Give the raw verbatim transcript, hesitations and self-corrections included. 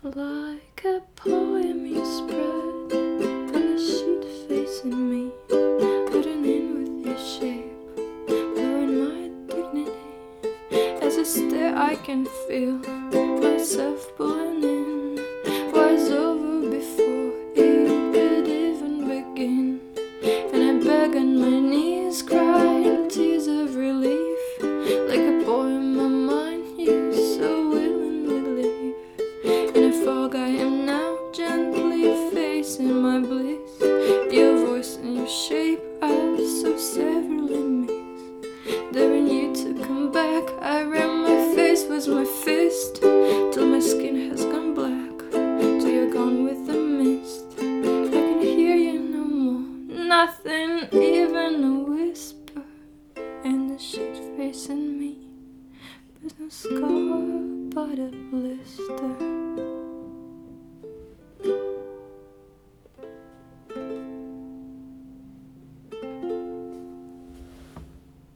Like a poem you spread on the sheet facing me, putting in with your shape, blurring my dignity. As I stare I can feel myself pulling in.